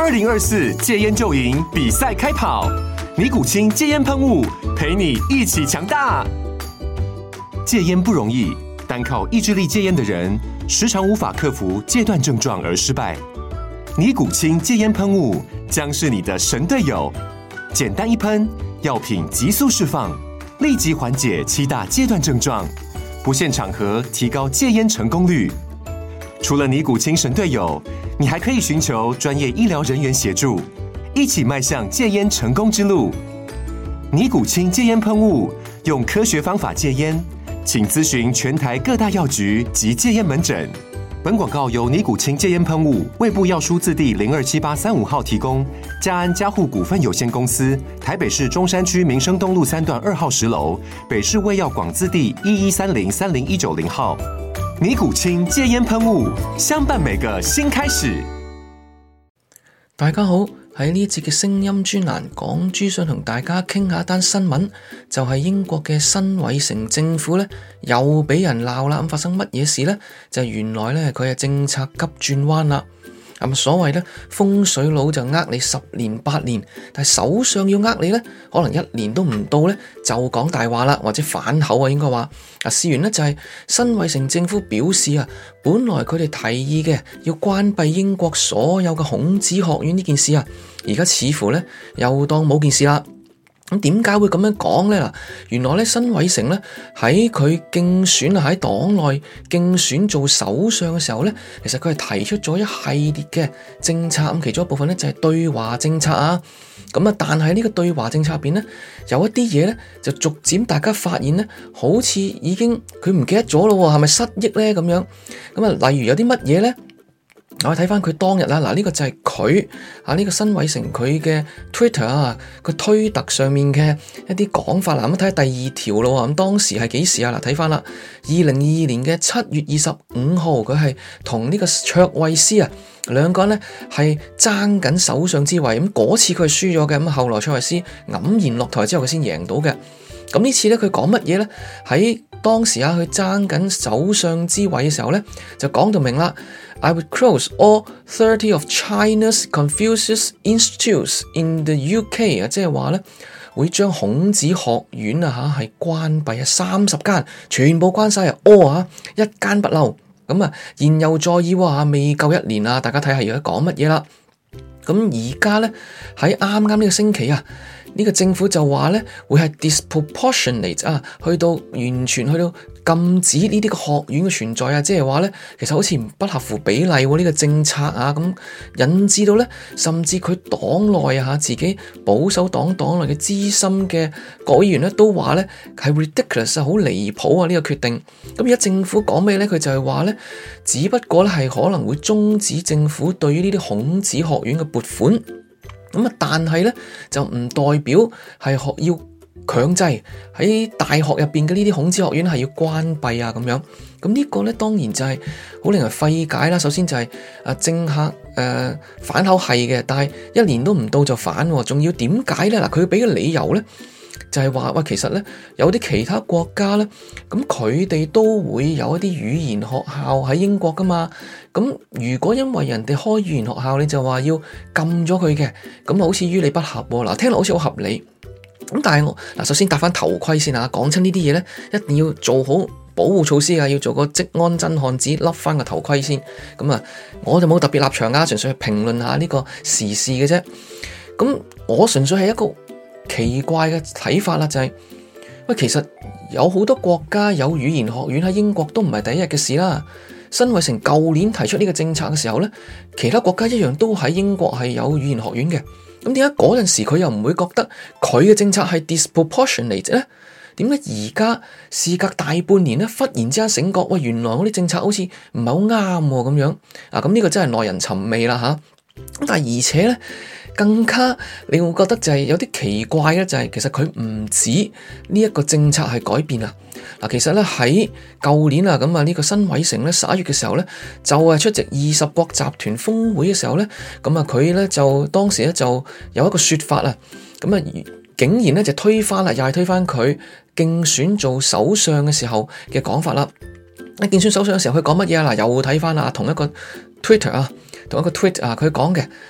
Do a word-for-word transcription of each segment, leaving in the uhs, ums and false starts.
二零二四戒菸就贏比賽開跑，尼古清戒菸噴霧陪你一起強大。戒菸不容易，單靠意志力戒菸的人，時常無法克服戒斷症狀而失敗。尼古清戒菸噴霧將是你的神隊友，簡單一噴，藥品急速釋放，立即緩解七大戒斷症狀，不限場合提高戒菸成功率。除了尼古清神隊友，你還可以尋求專業醫療人員協助，一起邁向戒菸成功之路。尼古清戒菸噴霧，用科學方法戒菸，請諮詢全台各大藥局及戒菸門診。本廣告由尼古清戒菸噴霧、衛部藥書字第零二七八三五號提供，嘉安嘉護股份有限公司，台北市中山區民生東路三段二號十樓，北市衛藥廣字第一一三零三零一九零號。尼古清戒菸噴霧，相伴每個新開始。 大家好，喺呢一節嘅聲音專欄，港豬想同大家傾下一單新聞，就係、是、英國嘅辛偉誠政府咧又俾人鬧啦。咁發生乜嘢事呢？就係、是、原來咧佢係政策急轉彎啦。咁所謂咧風水佬就呃你十年八年，但係首相要呃你咧，可能一年都唔到咧就講大話啦，或者反口啊，應該話啊。事緣咧就係辛偉誠政府表示啊，本來佢哋提議嘅要關閉英國所有嘅孔子學院呢件事啊，而家似乎咧又當冇件事啦。咁點解會咁樣講呢？嗱，原來咧辛偉誠咧喺佢競選啊喺黨內競選做首相嘅時候咧，其實佢係提出咗一系列嘅政策，咁其中一部分咧就係對華政策啊。咁啊，但係呢個對華政策入邊咧，有一啲嘢咧就逐漸大家發現咧，好似已經佢唔記得咗咯，係咪失憶咧咁樣？咁啊，例如有啲乜嘢咧？我睇翻佢當日啦，嗱、這、呢個就係佢啊呢個辛偉誠佢嘅 Twitter 啊，佢推特上面嘅一啲講法啦。咁睇下第二條咯，咁當時係幾時啊？嗱，睇翻啦，二零二二年嘅七月二十五號，佢係同呢個卓慧思啊兩個人咧係爭緊首相之位。咁嗰次佢係輸咗嘅，咁後來卓慧思黯然落台之後，佢先贏到嘅。咁呢次咧佢講乜嘢咧？喺當時啊，佢爭緊首相之位嘅時候咧，就講到明啦。I would close all thirty of China's Confucius Institutes in the U K 啊，即係話咧會將孔子學院啊嚇係關閉啊，三十間全部關晒啊，all啊一間不漏。咁啊，言猶在耳喎，未夠一年啊，大家睇下而家講乜嘢啦。咁而家咧喺啱啱呢個星期啊，呢個政府就話咧會係 disproportionate 啊，去到完全去到禁止呢啲個學院嘅存在啊，即係話咧其實好似不合乎比例喎呢個政策啊，咁引致到咧甚至佢黨內啊自己保守黨黨內嘅資深嘅國會議員咧都話咧係 ridiculous 啊，好離譜啊呢個決定。咁而家政府講咩咧？佢就係話咧，只不過咧係可能會終止政府對於呢啲孔子學院嘅撥款。咁啊，但係咧就唔代表係學要強制喺大學入邊嘅呢啲孔子學院係要關閉啊咁樣。咁呢個咧當然就係好令人費解啦。首先就係啊政客誒、呃、反口係嘅，但係一年都唔到就反，仲要點解咧？嗱，佢俾嘅理由咧就係話喂，其實咧有啲其他國家咧，咁佢哋都會有一啲語言學校喺英國噶嘛。咁如果因為人哋開語言學校，你就話要禁咗佢嘅，咁好似於理不合喎。嗱，聽落好似好合理。咁但係我嗱，首先戴翻頭盔先啊，講親呢啲嘢咧，一定要做好保護措施啊，要做個職安真漢子，笠翻個頭盔先。咁啊，我就冇特別立場啊，純粹係評論下呢個時事嘅啫。咁我純粹係一個奇怪嘅睇法啦，就係、是、喂，其實有好多國家有語言學院喺英國都唔係第一日嘅事啦。辛偉誠舊年提出呢個政策嘅時候咧，其他國家一樣都喺英國係有語言學院嘅。咁點解嗰陣時佢又唔會覺得佢嘅政策係 disproportionate 咧？點解而家事隔大半年咧，忽然之間醒覺，喂，原來我啲政策好似唔係好啱咁樣啊！咁呢個真係耐人尋味啦吓。咁但係而且咧，更加你會覺得就係有啲奇怪嘅，就係其實佢唔止呢一個政策係改變啊。嗱，其實咧喺舊年啊，咁啊呢個辛偉誠咧十一月嘅時候咧，就係出席二十國集團峰會嘅時候咧，咁啊佢咧就當時咧就有一個說法啊，咁啊竟然咧就推翻啦，又係推翻佢競選做首相嘅時候嘅講法啦。喺競選首相嘅時候，佢講乜嘢啊？嗱，又睇翻啦，同一個 Twitter 啊，同一個 tweet 啊，佢講嘅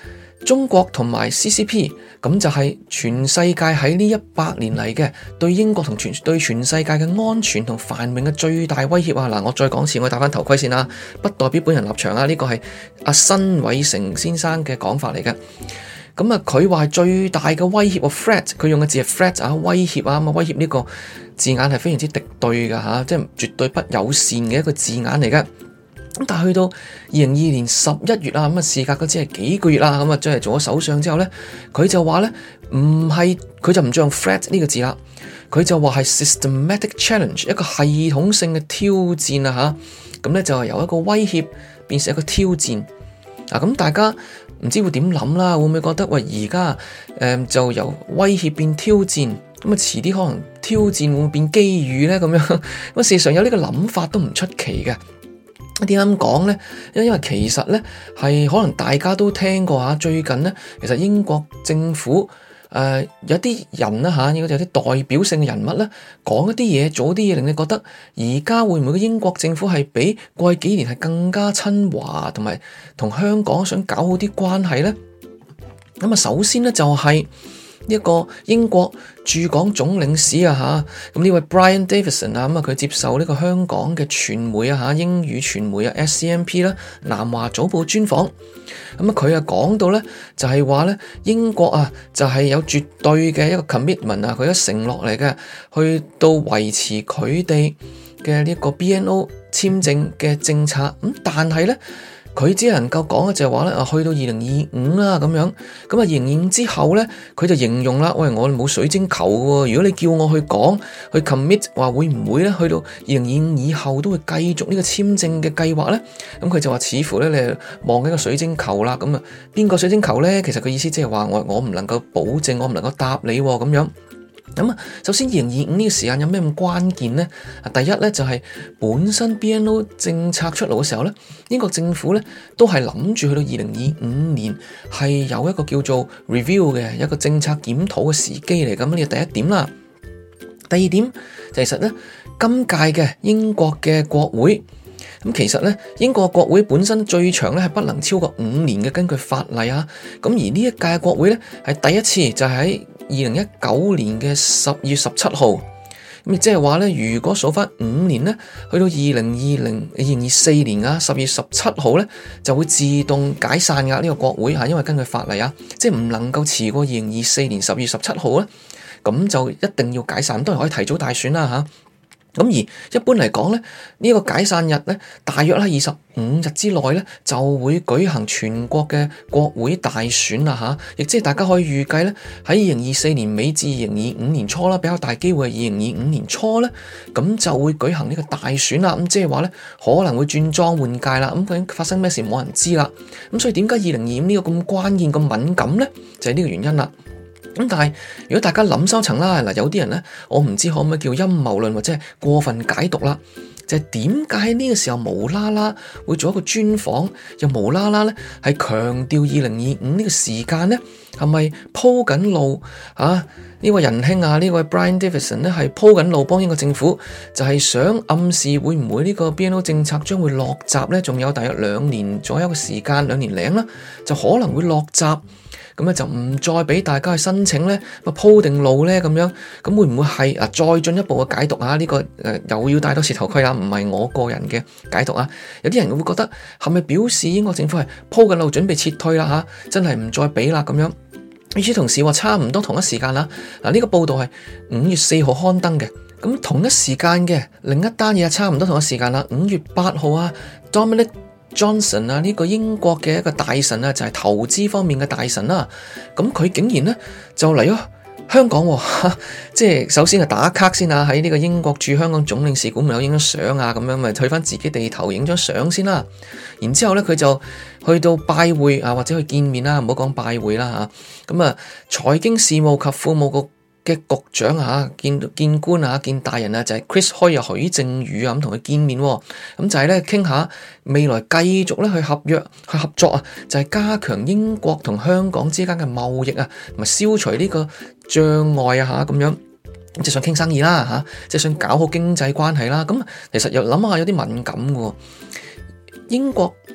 中國同埋 C C P 咁就係全世界喺呢一百年嚟嘅對英國同全對全世界嘅安全同繁榮嘅最大威脅啊！嗱，我再講次，我戴翻頭盔先啦，不代表本人立場啊，呢個係阿辛偉誠先生嘅講法嚟嘅。咁啊，佢話係最大嘅威脅啊 threat， 佢用嘅字係 threat 啊，威脅啊，咁啊威脅呢個字眼係非常之敵對噶吓，即係絕對不友善嘅一個字眼嚟嘅。咁但係去到二零二二年十一月啊，咁啊事隔嗰只係幾個月啦，咁啊即係做咗首相之後咧，佢就話咧唔係，佢就唔再用 threat 呢個字啦，佢就話係 systematic challenge， 一個系統性嘅挑戰啊吓，咁咧就係由一個威脅變成一個挑戰啊，咁大家唔知會點諗啦，會唔會覺得喂而家誒就由威脅變挑戰，咁啊遲啲可能挑戰會唔會變機遇咧？咁樣咁啊事實上有呢個諗法都唔出奇嘅。點解咁講呢？因為其實呢，係可能大家都聽過吓，最近呢，其實英國政府誒、呃、有啲人啦吓，應該有啲代表性嘅人物呢，講一啲嘢，做一啲嘢，令你覺得而家會唔會英國政府係比過去幾年係更加親華，同埋同香港想搞好啲關係呢？咁啊，首先呢，就係、是。一個英國駐港總領事啊吓，咁呢位 Brian Davison 啊，咁啊佢接受呢個香港嘅傳媒啊吓，英語傳媒啊 S C M P 啦，南華早報專訪，咁啊佢啊講到咧就係話咧英國啊就係有絕對嘅一個 commitment 啊，佢一承諾嚟嘅，去到維持佢哋嘅呢個 B N O 簽證嘅政策，咁但係咧。佢只能夠講嘅就係話咧，啊去到二零二五啦咁樣，咁啊二零二五之後咧，佢就形容啦，喂我冇水晶球喎，如果你叫我去講去 commit 話會唔會咧，去到二零二五以後都會繼續呢個簽證嘅計劃咧，咁佢就話似乎咧你望緊個水晶球啦，咁啊邊個水晶球咧？其實佢意思即係話我我唔能夠保證，我唔能夠答你咁樣。咁啊，首先二零二五呢個時間有咩咁關鍵呢？啊，第一咧就係本身 B N O 政策出爐嘅時候咧，英國政府咧都係諗住去到二零二五年係有一個叫做 review 嘅一個政策檢討嘅時機嚟，咁呢個第一點啦。第二點就其實咧，今屆嘅英國嘅國會，咁其實咧英國國會本身最長咧係不能超過五年嘅，根據法例啊。咁而呢一屆國會咧係第一次就係喺二零一九年嘅十月十七號，咁即係話咧，如果數翻五年咧，去到二零二零二零二四年啊十月十七號咧，就會自動解散噶呢個國會吓，因為根據法例啊，即係唔能夠遲過二零二四年十月十七號咧，咁就一定要解散，當然可以提早大選啦吓。咁而一般嚟講咧，呢、這個解散日咧，大約喺二十五日之內咧，就會舉行全國嘅國會大選啦吓，亦即係大家可以預計咧，喺二零二四年尾至二零二五年初啦，比較大機會係二零二五年初咧，咁就會舉行呢個大選啦。咁即係話咧，可能會轉莊換屆啦。咁究竟發生咩事冇人知啦。咁所以點解二零二五呢個咁關鍵咁敏感咧？就係、是、呢個原因啦。咁但係如果大家諗深層啦，嗱有啲人咧，我唔知可唔可以叫陰謀論或者係過分解讀啦，就係點解喺呢個時候無啦啦會做一個專訪，又無啦啦咧係強調二零二五呢個時間咧，係咪鋪緊路啊？呢位仁兄啊，呢位 Brian Davison 咧係鋪緊路幫英國政府，就係想暗示會唔會呢個 B N O 政策將會落閘咧？仲有大約兩年左右嘅時間，兩年零啦，就可能會落閘。咁咧就唔再俾大家去申請咧，咪鋪定路咧咁樣，咁會唔會係啊？再進一步嘅解讀啊？呢、這個誒、呃、又要戴多次頭盔啊？唔係我個人嘅解讀啊！有啲人會覺得係咪表示英國政府係鋪緊路準備撤退啦吓、啊？真係唔再俾啦咁樣。與此同時話差唔多同一時間啦，嗱、這、呢個報道係五月四號刊登嘅，咁同一時間嘅另一單嘢差唔多同一時間啦，五月八號啊 Dominic Johnson 啊，呢個英國嘅一個大臣啊，就係投資方面嘅大臣啦。咁佢竟然咧就嚟咗香港，即係首先係打卡先啊，喺呢個英國駐香港總領事館咪有影張相啊，咁樣咪去翻自己地頭影張相先啦。然之後咧佢就去到拜會啊，或者去見面啦，唔好講拜會啦吓。咁啊，財經事務及庫務局嘅局長啊，見見官啊，見大人啊，就係、是、Chris Hoy 啊，許正宇啊，咁同佢見面，咁就係咧傾下未來繼續咧去合約去合作啊，就係、是、加強英國同香港之間嘅貿易啊，同埋消除呢個障礙啊，吓咁樣，即係想傾生意啦，吓即係想搞好經濟關係啦。咁其實又諗下有啲敏感嘅，英國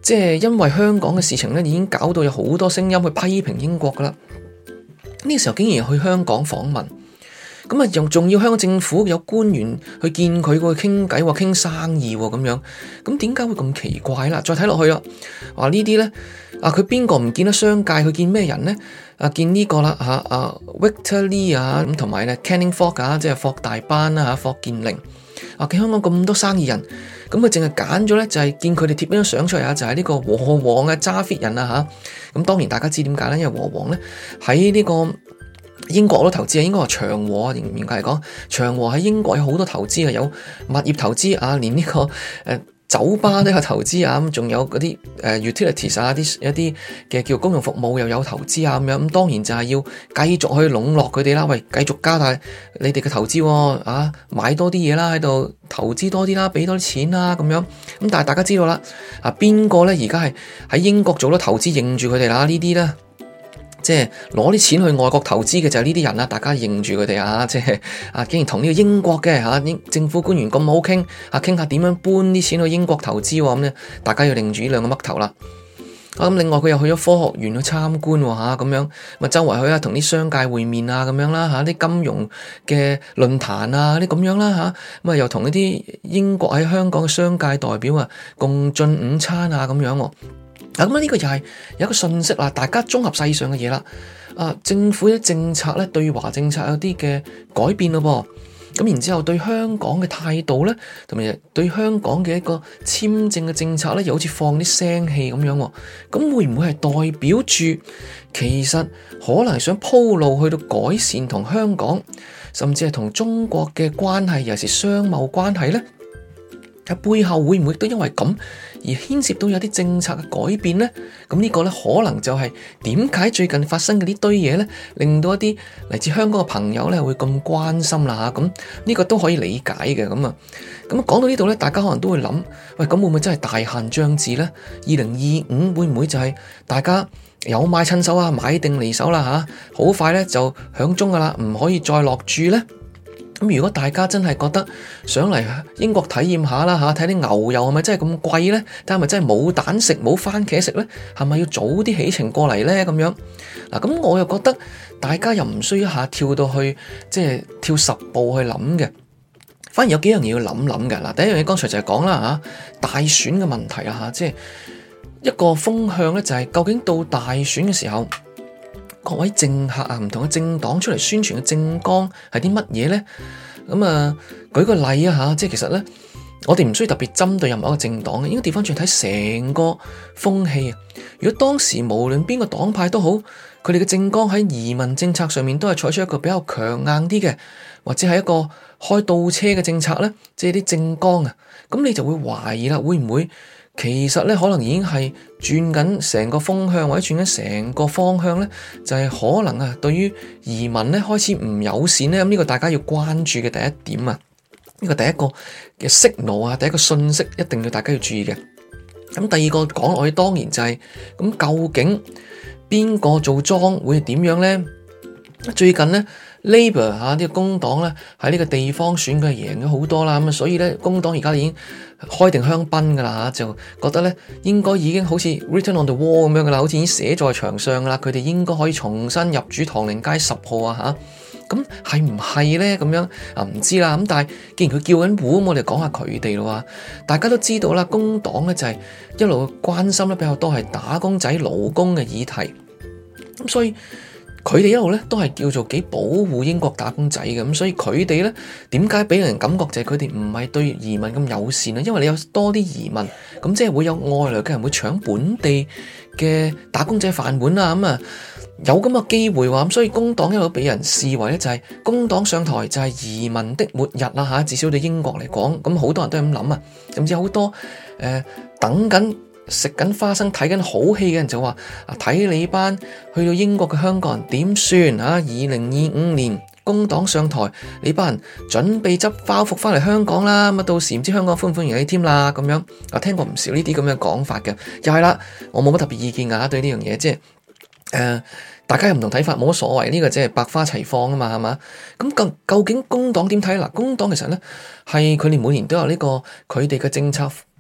即係因為香港嘅事情咧，已經搞到有好多聲音去批評英國噶啦。呢個時候竟然去香港訪問，咁啊又仲要香港政府有官員去見佢，過去傾偈，話傾生意咁樣，咁點解會咁奇怪啦？再睇落去啊，話呢啲咧啊，佢邊個唔見得商界？佢見咩人咧？啊，見呢個啦嚇啊 Victor Lee 啊，咁同埋咧 Canning Fok 啊，即係霍大班啦嚇，霍建寧啊，見香港咁多生意人。咁佢淨係揀咗咧，就係見佢哋貼張相出嚟啊！就係呢個和黃嘅揸 fit 人啊嚇。咁當然大家知點解咧？因為和黃咧喺呢個英國都投資啊，應該話長和啊，嚴格嚟講，長和喺英國有好多投資啊，有物業投資啊，連呢個誒酒吧都有投資啊，咁仲有嗰啲誒 utilities 啊，啲一啲嘅叫公用服務又有投資啊，咁樣咁當然就係要繼續去籠絡佢哋啦。喂，繼續加大你哋嘅投資啊，買多啲嘢啦，喺度投資多啲啦，俾多啲錢啦，咁樣咁。但係大家知道啦，啊邊個咧而家係喺英國做咗投資，認住佢哋啦？呢啲咧。即係攞啲錢去外國投資嘅就係呢啲人啦，大家認住佢哋啊！即係啊，竟然同呢個英國嘅嚇英政府官員咁好傾啊，傾下點樣搬啲錢去英國投資喎咁咧，大家要認住呢兩個嘜頭啦。啊咁，另外佢又去咗科學園去參觀喎嚇，咁樣咪周圍去啊，同啲商界會面啊咁樣啦嚇，啲金融嘅論壇啊啲咁樣啦嚇，咁啊又同一啲英國喺香港嘅商界代表啊共進午餐啊咁樣喎。咁呢個又係有一個信息啦，大家綜合世上嘅嘢啦。啊，政府嘅政策咧，對華政策有啲嘅改變咯噃。咁然之後對香港嘅態度咧，同埋對香港嘅一個簽證嘅政策咧，又好似放啲聲氣咁樣。咁會唔會係代表住其實可能想鋪路去到改善同香港，甚至係同中國嘅關係，尤其是商貿關係咧？喺背後會唔會都因為咁而牽涉到有啲政策嘅改變呢？咁呢個呢，可能就係點解最近發生嘅呢堆嘢呢，令到一啲嚟自香港嘅朋友呢會咁關心啦嚇。咁呢個都可以理解嘅。咁啊，咁講到呢度呢，大家可能都會諗，喂，咁會唔會真係大限將至呢？二零二五會唔會就係大家有買趁手啊，買定離手啦嚇？好快呢就響鐘噶啦，唔可以再落注呢？咁如果大家真係覺得想嚟英國體驗下啦嚇，睇啲牛油係咪真係咁貴咧？但係咪真係冇蛋食冇番茄食咧？係咪要早啲起程過嚟咧？咁樣嗱，咁我又覺得大家又唔需要一下跳到去即係跳十步去諗嘅，反而有幾樣嘢要諗諗嘅。嗱，第一樣嘢剛才就係講啦嚇，大選嘅問題啊嚇，即係一個風向咧，就係究竟到大選嘅時候，各位政客啊，唔同嘅政黨出嚟宣傳嘅政綱係啲乜嘢咧？咁啊，舉個例啊吓，即係其實咧，我哋唔需要特別針對任何一個政黨嘅，應該調翻轉睇成個風氣啊。如果當時無論邊個黨派都好，佢哋嘅政綱喺移民政策上面都係採取一個比較強硬啲嘅，或者係一個開倒車嘅政策咧，即係啲政綱啊，咁你就會懷疑啦，會唔會？其實咧，可能已經係轉緊成個風向，或者轉緊成個方向咧，就係、是、可能啊，對於移民咧開始唔友善咧。咁、這、呢個大家要關注嘅第一點啊，呢、這個第一個嘅 signal啊，第一個信息一定要大家要注意嘅。咁第二個講落去，當然就係、是、咁，究竟邊個做莊會係點樣咧？最近咧 Labour 嚇、啊、呢、這個工黨咧喺呢個地方選舉贏咗好多啦，咁啊，所以咧工黨而家已經開定香檳噶啦嚇，就覺得咧應該已經好似 written on the wall 咁樣噶啦，好似已經寫在牆上噶啦，佢哋應該可以重新入主唐寧街十號啊嚇，咁係唔係咧？咁樣啊唔知啦，咁但係既然佢叫緊戶，咁我哋講下佢哋咯。大家都知道啦，工黨咧就係一路關心咧比較多係打工仔勞工嘅議題，咁所以。佢哋一路咧都係叫做幾保護英國打工仔嘅，咁所以佢哋咧點解俾人感覺就係佢哋唔係對移民咁友善咧？因為你有多啲移民，咁即係會有外來嘅人會搶本地嘅打工仔飯碗啊，咁啊有咁嘅機會話，咁所以工黨一路俾人視為咧就係工黨上台就係移民的末日啦嚇，至少對英國嚟講，咁好多人都係咁諗啊，甚至好多誒、呃、等緊。食緊花生睇緊好戲嘅人就話啊，睇你班去到英國嘅香港人點算啊？二零二五年工黨上台，你班人準備執包袱翻嚟香港啦，咁啊到時唔知香港歡唔歡迎你添啦咁樣啊，聽過唔少呢啲咁嘅講法嘅，又係啦，我冇乜特別意見噶，對呢樣嘢，即係誒、呃，大家有唔同睇法冇乜所謂，呢、這個即係百花齊放啊嘛，係嘛？咁究究竟工黨點睇？嗱，工黨其實咧係佢哋每年都有呢、這個佢哋嘅政策。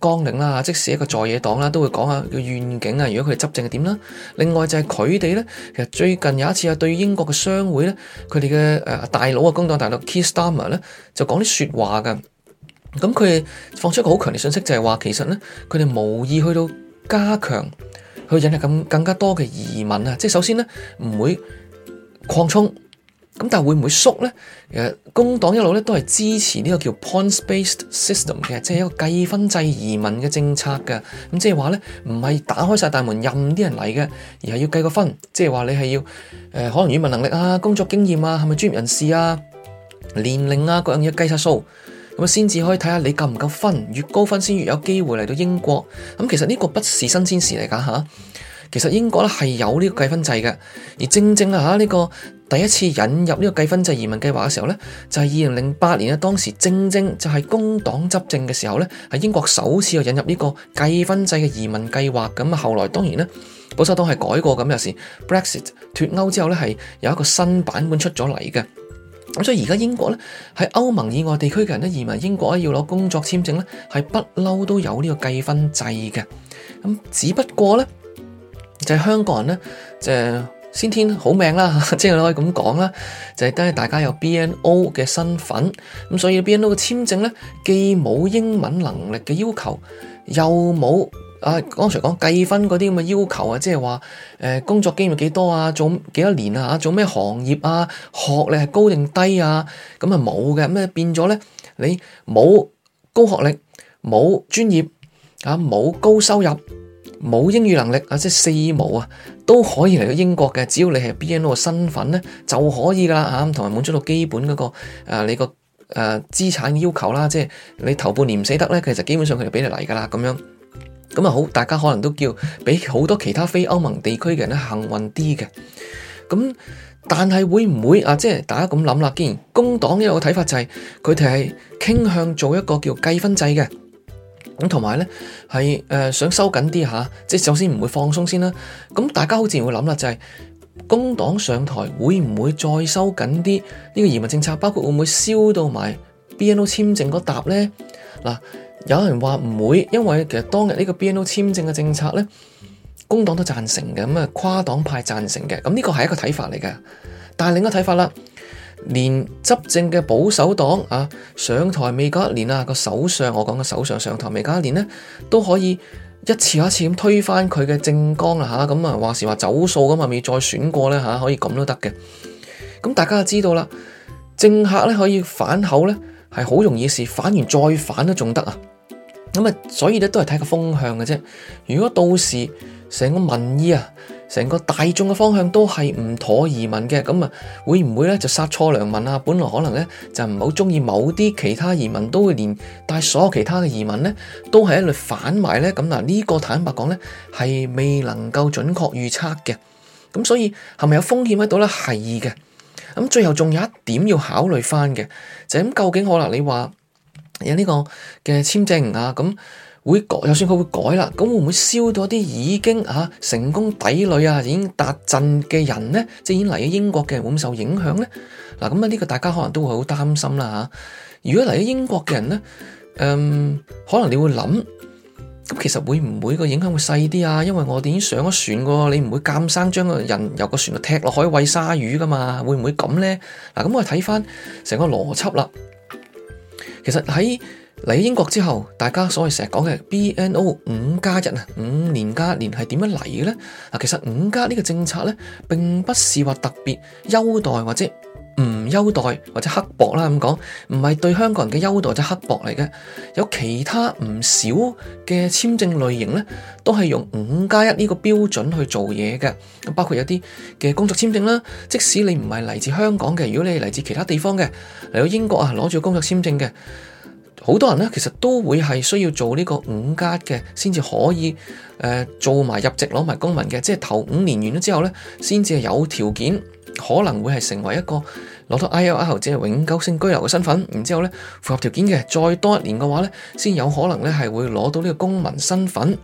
綱領啦，即使一個在野黨啦，都會講下個願景啊。如果佢哋執政係點啦？另外就係佢哋咧，其實最近有一次啊，對英國嘅商會咧，佢哋嘅誒大佬啊，工黨大佬 Keir Starmer 咧，就講啲説話㗎。咁佢哋放出一個好強烈信息，就係話其實咧，佢哋無意去到加強去引入更更加多嘅移民啊。即係首先咧，唔會擴充。咁但係會唔會縮咧？誒，工黨一路咧都係支持呢個叫 points-based system 嘅，即係一個計分制移民嘅政策嘅。咁即係話咧，唔係打開晒大門任啲人嚟嘅，而係要計個分。即係話你係要誒、呃，可能語文能力啊、工作經驗啊、係咪專業人士啊、年齡啊各樣嘢計晒數，咁啊先至可以睇下你夠唔夠分。越高分先越有機會嚟到英國。咁其實呢個不是新鮮事嚟噶吓。其實英國咧係有呢個計分制嘅，而正正啊吓呢個第一次引入呢個計分制移民計劃嘅時候咧，就係二零零八年啊，當時正正就係工黨執政嘅時候咧，係英國首次引入呢個計分制嘅移民計劃。咁啊，後來當然咧，保守黨係改過，咁有時 Brexit 脫歐之後咧係有一個新版本出咗嚟嘅。咁所以而家英國咧喺歐盟以外地區嘅人咧移民英國咧要攞工作簽證咧係不嬲都有呢個計分制嘅。咁只不過咧。就係香港人咧，就係先天好命啦，即係可以咁講啦。就係都係大家有 B N O 嘅身份，咁所以 B N O 嘅簽證咧，既冇英文能力嘅要求，又冇啊剛才講計分嗰啲咁嘅要求啊，即係話誒工作經驗幾多啊，做幾多年啊，做咩行業啊，學歷係高定低啊，咁啊冇嘅，咁啊變咗咧，你冇高學歷，冇專業啊，冇高收入。冇英語能力啊，即係四無啊，都可以嚟到英國嘅。只要你係 B N O 嘅身份咧，就可以噶啦嚇，同埋滿足到基本嗰、那個誒、呃、你個誒、呃、資產要求啦。即係你頭半年唔死得咧，其實基本上佢就俾你嚟噶啦咁樣。咁啊好，大家可能都叫比好多其他非歐盟地區嘅人咧幸運啲嘅。咁但係會唔會啊？即係大家咁諗啦。既然工黨有個睇法就係佢哋係傾向做一個叫計分制嘅。咁同埋咧，係誒想收緊啲吓，即係首先唔會放鬆先啦。咁大家好自然會諗啦，就係工黨上台會唔會再收緊啲呢個移民政策？包括會唔會燒到埋 B N O 簽證嗰沓咧？嗱，有人話唔會，因為其實當日呢個 B N O 簽證嘅政策咧，工黨都贊成嘅，咁啊跨黨派贊成嘅。咁呢個係一個睇法嚟嘅，但係另一個睇法啦。連執政嘅保守黨啊上台未夠一年啊，個首相我講嘅首相上台未夠一年咧，都可以一次又一次咁推翻佢嘅政綱啦吓，咁啊話時話走數咁啊未再選過咧吓，可以咁都得嘅。咁大家就知道啦，政客咧可以反口咧係好容易事，反完再反都仲得啊。咁啊，所以咧都係睇個風向嘅啫。如果到時成個民意啊，成個大眾嘅方向都係唔妥移民嘅，咁啊會唔會咧就殺錯良民啊？本來可能咧就唔係好中意某啲其他移民，都會連帶所有其他嘅移民咧都係一律反埋咧。咁嗱呢個坦白講咧係未能夠準確預測嘅。咁所以係咪有風險喺度咧？係嘅。咁最後仲有一點要考慮翻嘅，就係咁究竟可能你話有呢個嘅簽證啊咁。會改，就算佢會改啦，咁會唔會燒到啲已經啊成功抵壘啊，已經達陣嘅人呢？即係已經嚟咗英國嘅人會唔會受影響呢？嗱，咁啊呢個大家可能都會好擔心啦吓。如果嚟咗英國嘅人呢，嗯，可能你會諗，咁其實會唔會個影響會細啲啊？因為我哋已經上咗船噶，你唔會監生將個人由個船度踢落海餵鯊魚噶嘛？會唔會咁呢？嗱，咁我哋睇翻成個邏輯啦。其實喺嚟英國之後，大家所謂成日講嘅 B N O 五加一啊，五年加一年係點樣嚟嘅咧？嗱，其實五加呢個政策咧，並不是話特別優待或者唔優待或者刻薄啦咁講，唔係對香港人嘅優待或者刻薄嚟嘅。有其他唔少嘅簽證類型咧，都係用五加一呢個標準去做嘢嘅。咁包括有啲嘅工作簽證啦，即使你唔係嚟自香港嘅，如果你係嚟自其他地方嘅，嚟到英國啊，攞住工作簽證嘅。好多人咧，其實都會係需要做呢個五加嘅，先至可以誒、呃、做埋入籍攞埋公民嘅，即係頭五年完咗之後咧，先至係有條件可能會係成為一個攞到 I L R 即係永久性居留嘅身份，然之後咧符合條件嘅，再多一年嘅話咧，先有可能咧係會攞到呢個公民身份。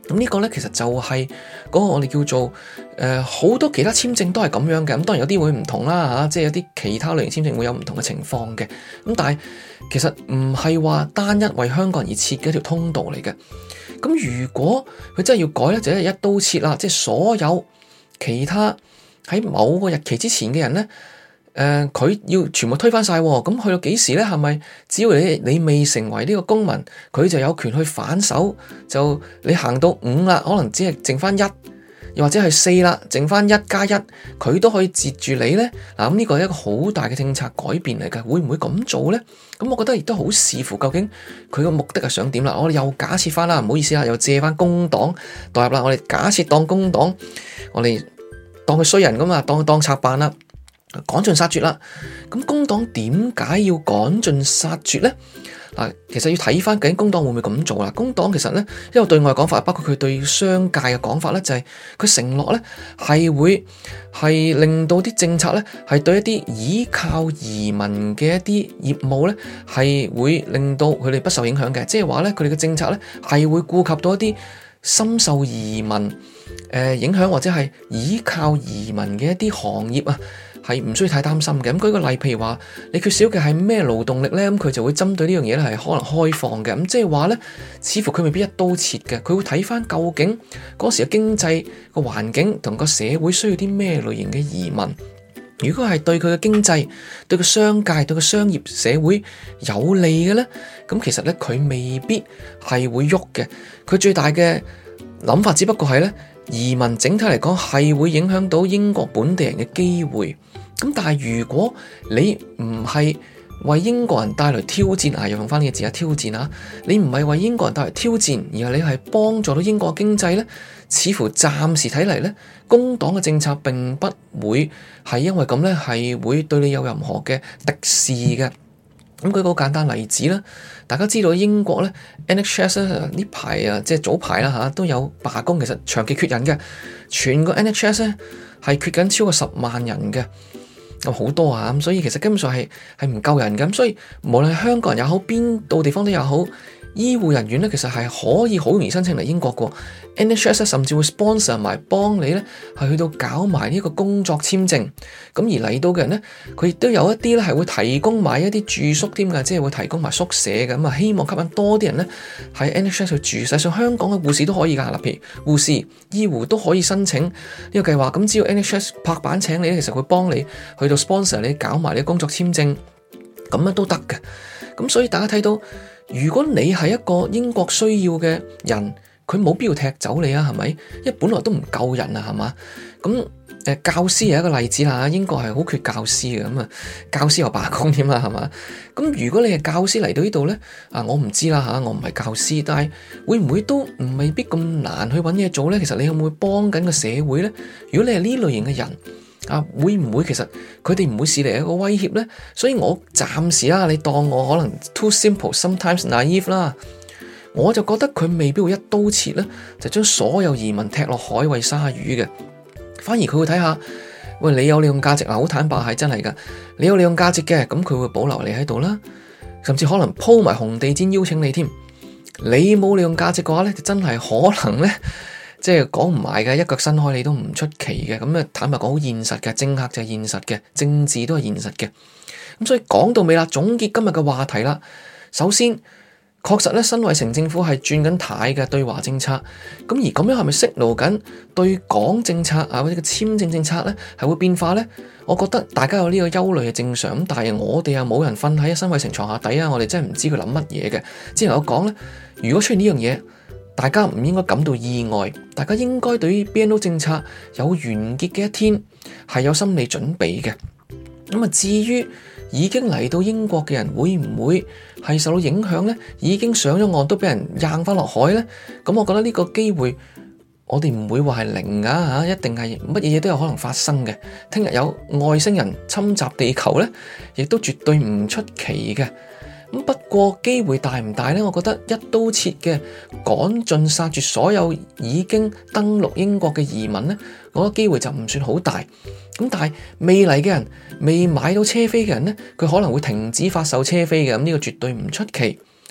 咁呢個咧其實就係嗰個我哋叫做誒好、呃、多其他簽證都係咁樣嘅，咁當然有啲會唔同啦嚇、啊，即係有啲其他類型簽證會有唔同嘅情況嘅，咁但係其實唔係話單一為香港人而設嘅一條通道嚟嘅。咁如果佢真係要改咧，就係一刀切啦，即係所有其他喺某個日期之前嘅人咧。誒佢、呃、要全部推翻晒，咁去到幾時咧？係咪只要你你未成為呢個公民，佢就有權去反手？就你行到五啦，可能只係剩翻一，又或者係四啦，剩翻一加一，佢都可以截住你咧。嗱，咁呢個係一個好大嘅政策改變嚟嘅，會唔會咁做咧？咁我覺得亦都好視乎究竟佢個目的係想點啦。我哋又假設翻啦，唔好意思啊，又借翻工黨代入啦。我哋假設當工黨，我哋當佢衰人噶嘛，當佢當賊辦啦。趕盡殺絕啦！咁工黨點解要趕盡殺絕咧？嗱，其實要睇翻究竟工黨會唔會咁做啦？工黨其實咧，因為對外講法，包括佢對商界嘅講法咧，就係佢承諾咧係會係令到啲政策咧係對一啲依靠移民嘅一啲業務咧係會令到佢哋不受影響嘅，即係話咧佢哋嘅政策咧係會顧及到一啲深受移民誒、呃、影響或者係依靠移民嘅一啲行業啊。係唔需要太擔心嘅。咁舉個例，譬如話你缺少嘅係咩勞動力咧，咁佢就會針對呢樣嘢咧係可能開放嘅。咁即係話咧，似乎佢未必一刀切嘅，佢會睇翻究竟嗰時嘅經濟個環境同個社會需要啲咩類型嘅移民。如果係對佢嘅經濟、對個商界、對個商業社會有利嘅咧，咁其實咧佢未必係會喐嘅。佢最大嘅諗法只不過係咧，移民整體嚟講係會影響到英國本地人嘅機會。咁但係如果你唔係為英國人帶來挑戰啊，又用翻呢個字啊，挑戰啊，你唔係為英國人帶來挑戰，而係你係幫助到英國經濟咧，似乎暫時睇嚟咧，工黨嘅政策並不會係因為咁咧係會對你有任何嘅敵視嘅。咁舉個簡單例子啦，大家知道英國咧 N H S 呢排啊，即係早排啦嚇都有罷工，其實長期缺人嘅，全個 N H S 咧係缺緊超過十萬人嘅。有好多啊，咁所以其實根本上係係唔夠人嘅，咁所以無論係香港人也好，邊度地方都也好，醫護人員咧其實係可以好容易申請嚟英國嘅 N H S 甚至會 sponsor 埋幫你咧係去到搞埋呢個工作簽證，咁而嚟到嘅人咧，佢亦都有一啲咧係會提供埋一啲住宿添嘅，即係會提供埋宿舍嘅，咁啊希望吸引多啲人咧喺 N H S 去住。實際上香港嘅護士都可以噶，嗱，譬如護士、醫護都可以申請呢個計劃，咁只要 N H S 拍板請你咧，其實會幫你去到 sponsor 你搞埋啲工作簽證，咁樣都得嘅。咁所以大家睇到，如果你係一個英國需要嘅人，佢冇必要踢走你啊，係咪？因為本來都唔夠人啊，係嘛？咁誒，教師係一個例子啦，英國係好缺教師嘅，咁啊，教師又罷工添啦，係嘛？咁如果你係教師嚟到呢度咧，啊，我唔知啦吓，我唔係教師，但係會唔會都唔未必咁難去搵嘢做咧？其實你有冇會幫緊個社會咧？如果你係呢類型嘅人，啊，會唔會其實佢哋唔會視你係一個威脅咧？所以我暫時啦，你當我可能 too simple sometimes naive 啦，我就覺得佢未必會一刀切咧，就將所有移民踢落海餵鯊魚嘅。反而佢會睇下，喂，你有利用價值啊，好坦白係真係噶，你有利用價值嘅，咁佢會保留你喺度啦，甚至可能鋪埋紅地毯邀請你添。你冇利用價值嘅話咧，就真係可能咧。即係講唔埋嘅，一腳伸開你都唔出奇嘅。咁啊，坦白講好現實嘅，政客就係現實嘅，政治都係現實嘅。咁所以講到尾啦，總結今日嘅話題啦。首先，確實咧，辛偉誠政府係轉緊軚嘅對華政策。咁而咁樣係咪 signal緊對港政策啊或者個簽證政策咧係會變化咧？我覺得大家有呢個憂慮係正常。咁但係我哋又冇人瞓喺辛偉誠床下底啊，我哋真係唔知佢諗乜嘢嘅。之前我講咧，如果出現呢樣嘢，大家唔應該感到意外，大家應該對於 B N O 政策有完結嘅一天係有心理準備嘅。咁啊，至於已經嚟到英國嘅人會唔會係受到影響呢？已經上咗岸都俾人扔翻落海呢？咁我覺得呢個機會我哋唔會話係零噶吓，一定係乜嘢嘢都有可能發生嘅。聽日有外星人侵襲地球呢，亦都絕對唔出奇嘅。不過機會大唔大呢？我覺得一刀切嘅趕盡殺絕所有已經登陸英國嘅移民呢，我覺得機會就唔算好大。咁但係未嚟嘅人，未買到車飛嘅人呢，佢可能會停止發售車飛嘅，咁呢個絕對唔出奇。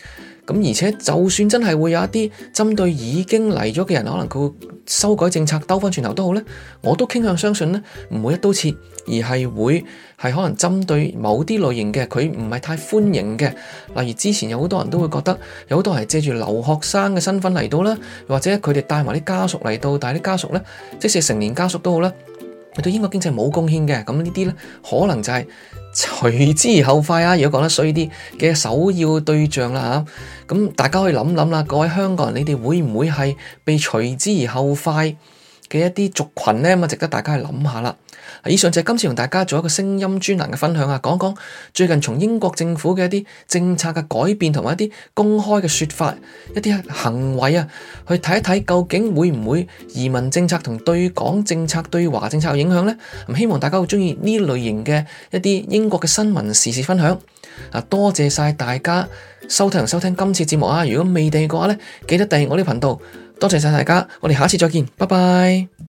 咁而且就算真係會有一啲針對已經嚟咗嘅人，可能佢會修改政策兜翻轉頭都好咧，我都傾向相信咧唔會一刀切，而係會係可能針對某啲類型嘅佢唔係太歡迎嘅，例如之前有好多人都會覺得有好多人係借住留學生嘅身份嚟到啦，或者佢哋帶埋啲家屬嚟到，但係啲家屬咧即使成年家屬都好啦，對英國經濟冇貢獻嘅，咁呢啲咧可能就係隨之而後快啊！如果講得衰啲嘅首要對象啦嚇，咁大家可以諗諗啦，各位香港人，你哋會唔會係被隨之而後快嘅一啲族群呢？咁啊，值得大家去諗下啦。以上就係今次同大家做一個聲音專欄嘅分享啊，講講最近從英國政府嘅一啲政策嘅改變同埋一啲公開嘅説法、一啲行為啊，去睇一睇究竟會唔會移民政策同對港政策、對華政策有影響呢？咁希望大家會鍾意呢類型嘅一啲英國嘅新聞時事分享啊！多謝晒大家收聽同收聽今次節目啊！如果未訂嘅話咧，記得訂閱我呢個頻道。多謝晒大家，我哋下次再見，拜拜。